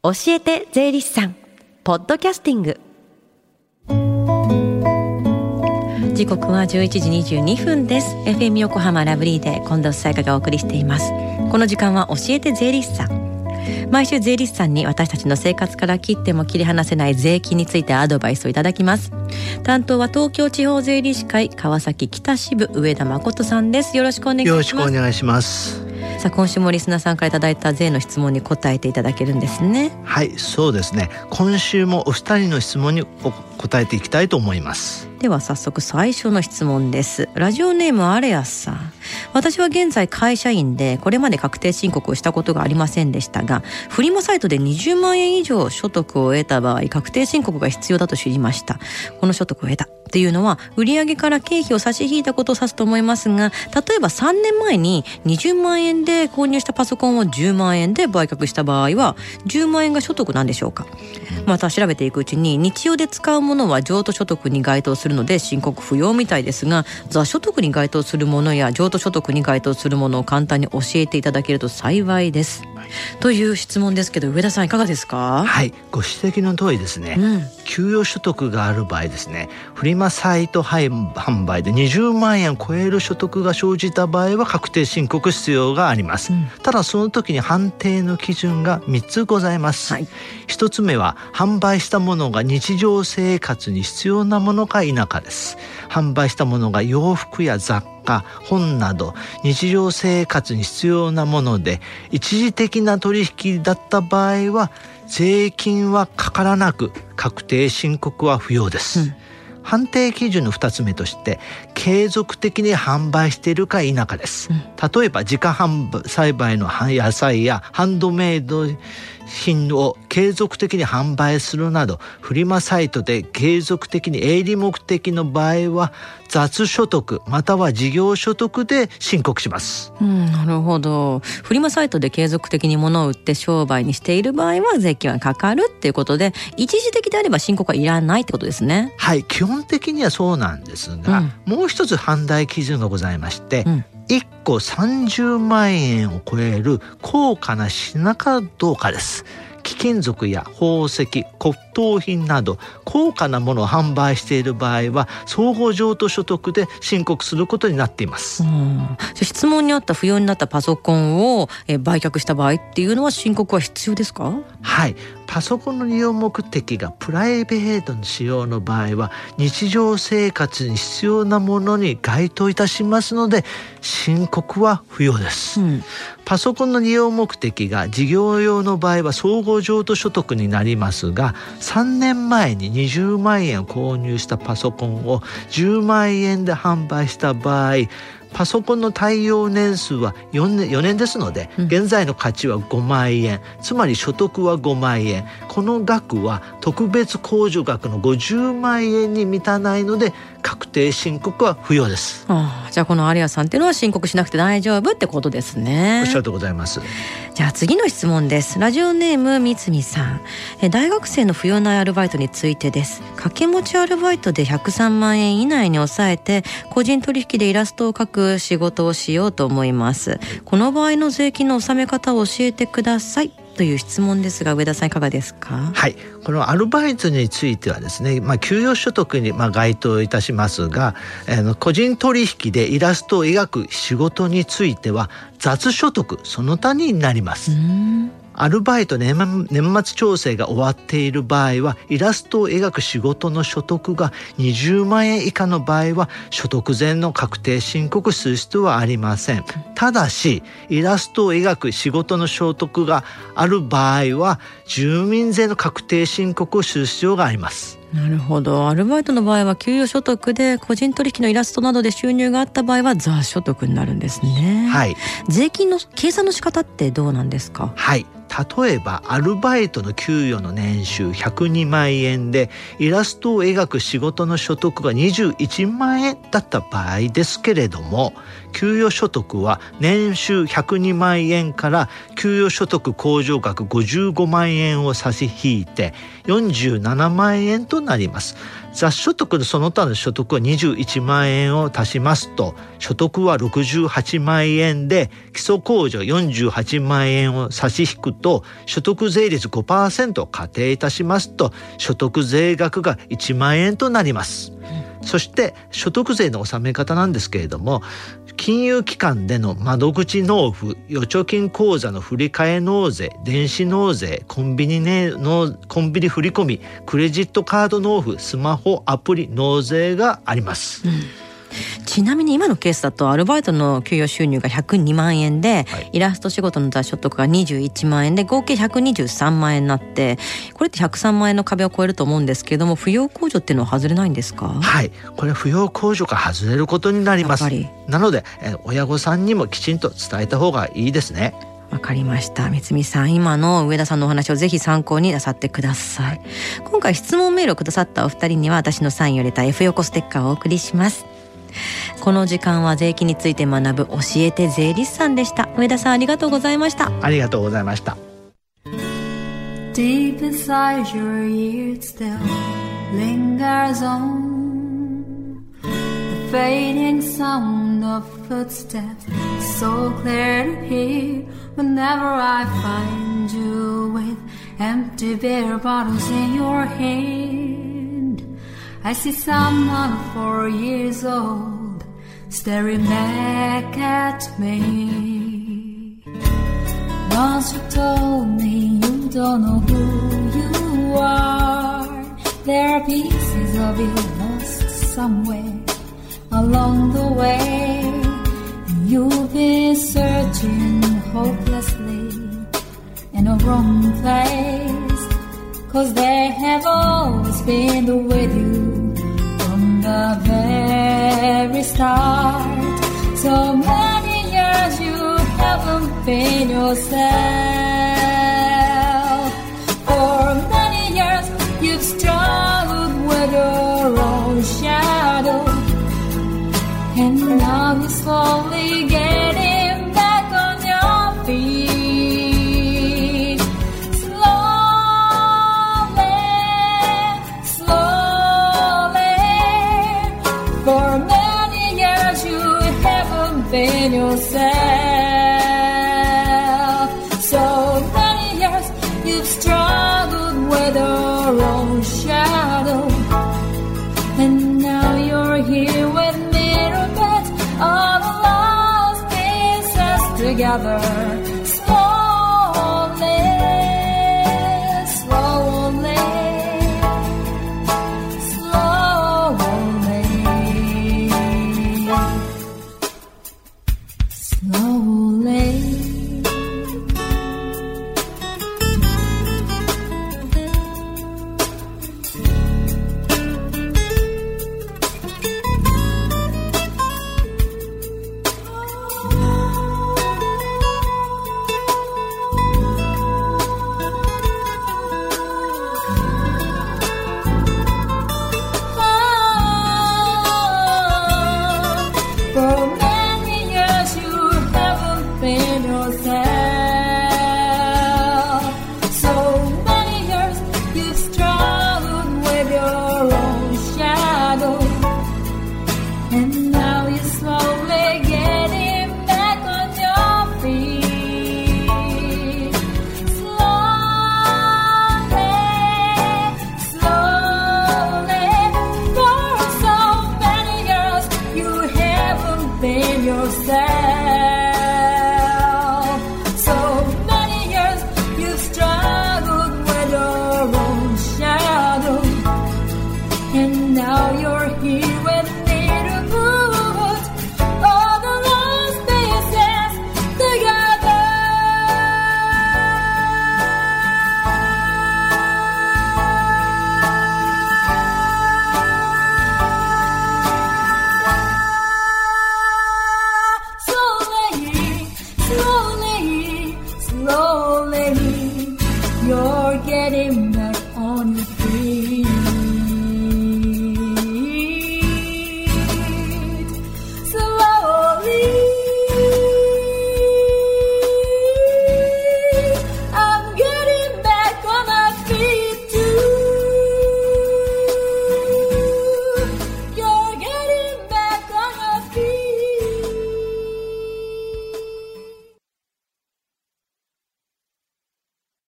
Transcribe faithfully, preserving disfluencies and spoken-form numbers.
教えて税理士さんポッドキャスティング。時刻はじゅういちじにじゅうにふんです。 エフエム 横浜ラブリーで近藤沙耶香がお送りしています。この時間は教えて税理士さん。毎週税理士さんに私たちの生活から切っても切り離せない税金についてアドバイスをいただきます。担当は東京地方税理士会川崎北支部上田誠さんです。よろしくお願いします。 よろしくお願いします。 さあ、今週もリスナーさんからいただいた税の質問に答えていただけるんですね。 はい、そうですね。今週もお二人の質問に答えていきたいと思います。 では早速最初の質問です。ラジオネームアレアスさん。私は現在会社員でこれまで確定申告をしたことがありませんでしたが、フリマサイトでにじゅうまんえん以上所得を得た場合確定申告が必要だと知りました。この所得を得たっていうのは売上から経費を差し引いたことを指すと思いますが、例えばさんねんまえににじゅうまんえんで購入したパソコンをじゅうまんえんで売却した場合はじゅうまんえんが所得なんでしょうか。また調べていくうちに日用で使うものは譲渡所得に該当するので申告不要みたいですが、座所得に該当するものや譲渡所得に該当するものを簡単に教えていただけると幸いです、はい、という質問ですけど、上田さんいかがですか。 はい、ご指摘の通りですね、うん、給与所得がある場合ですね、フリマサイト販売でにじゅうまんえんを超える所得が生じた場合は確定申告必要があります、うん、ただその時に判定の基準がみっつございます、はい、ひとつめは販売したものが日常生活に必要なものか否かです。販売したものが洋服や雑貨、本など日常生活に必要なもので一時的な取引だった場合は税金はかからなく確定申告は不要です、うん、判定基準のふたつめとして継続的に販売しているか否かです、うん、例えば自家販売栽培の野菜やハンドメイド品を継続的に販売するなどフリマサイトで継続的に営利目的の場合は雑所得または事業所得で申告します、 うん、なるほど。フリマサイトで継続的に物を売って商売にしている場合は税金はかかるっていうことで、一時的であれば申告はいらないってことですね。 はい、基本的にはそうなんですが、うん、もう一つ判断基準がございまして、うん、いっこさんじゅうまんえんを超える高価な品かどうかです。貴金属や宝石、骨董品など高価なものを販売している場合は総合譲渡所得で申告することになっています。 うん、質問にあった不要になったパソコンをえ売却した場合っていうのは申告は必要ですか。 はい、パソコンの利用目的がプライベートの使用の場合は日常生活に必要なものに該当いたしますので申告は不要です、うん、パソコンの利用目的が事業用の場合は総合譲渡所得になりますが、さんねんまえににじゅうまんえんを購入したパソコンをじゅうまんえんで販売した場合、パソコンの耐用年数はよねん、よねんですので、うん、現在の価値はごまんえん、つまり所得はごまんえん、この額は特別控除額のごじゅうまんえんに満たないので確定申告は不要です。 ああ、じゃあこのアリアさんっていうのは申告しなくて大丈夫ってことですね。 おっしゃるとございます。 じゃあ次の質問です。ラジオネームみつみさん。え大学生の不要なアルバイトについてです。掛け持ちアルバイトでひゃくさんまんえん以内に抑えて個人取引でイラストを描く仕事をしようと思います。この場合の税金の納め方を教えてくださいという質問ですが、上田さんいかがですか。 はい、このアルバイトについてはですね、まあ、給与所得にまあ該当いたしますが、えー、個人取引でイラストを描く仕事については雑所得その他になります。うーん、アルバイト年末調整が終わっている場合はイラストを描く仕事の所得がにじゅうまんえん以下の場合は所得税の確定申告する必要はありません。ただしイラストを描く仕事の所得がある場合は住民税の確定申告をする必要があります。 なるほど。アルバイトの場合は給与所得で個人取引のイラストなどで収入があった場合は雑所得になるんですね。 はい。 税金の計算の仕方ってどうなんですか。 はい、例えばアルバイトの給与の年収ひゃくにまんえんでイラストを描く仕事の所得がにじゅういちまんえんだった場合ですけれども、 給与所得は年収ひゃくにまんえんから給与所得控除額ごじゅうごまんえんを差し引いてよんじゅうななまんえんとなります。雑所得のその他の所得はにじゅういちまんえんを足しますと所得はろくじゅうはちまんえんで、基礎控除よんじゅうはちまんえんを差し引くと所得税率 ごパーセント を仮定いたしますと所得税額がいちまんえんとなります。うん、そして所得税の納め方なんですけれども、金融機関での窓口納付、預貯金口座の振替納税、電子納税、コンビニねのコンビニ振込、クレジットカード納付、スマホアプリ納税があります。うん、 ちなみに今のケースだとアルバイトの給与収入がひゃくにまんえんで、はい、イラスト仕事の雑所得がにじゅういちまんえんで合計ひゃくにじゅうさんまんえんになって、これってひゃくさんまんえんの壁を超えると思うんですけれども、扶養控除っていうのは外れないんですか？ はい、これ扶養控除が外れることになります。なのでえ親御さんにもきちんと伝えた方がいいですね。 わかりました。三見さん、今の上田さんのお話をぜひ参考になさってください。はい、今回質問メールをくださったお二人には私のサインを入れた F 横ステッカーをお送りします。この時間は税金について学ぶ教えて税理士さんでした。上田さん、ありがとうございました。 ありがとうございました。 Deep inside your ears still lingers on the fading sound of footsteps, so clear to hear whenever I find you with empty beer bottles in your hand. I see someone four years old staring back at me. Once you told me you don't know who you are. There are pieces of you lost somewhere along the way. You've been searching hopelessly in a wrong place, 'cause they have always been with you from the very start. So many years you haven't been yourself. For many years you've struggled with your own shadow, and now you're slowly getting back on your feet. Slowly, slowly. For many years you haven't been yourself. So many years you've struggled with your own shadow, and now you're here with me to put all the lost pieces together. Slowly, slowly, slowly, slowly. Slowly, you're getting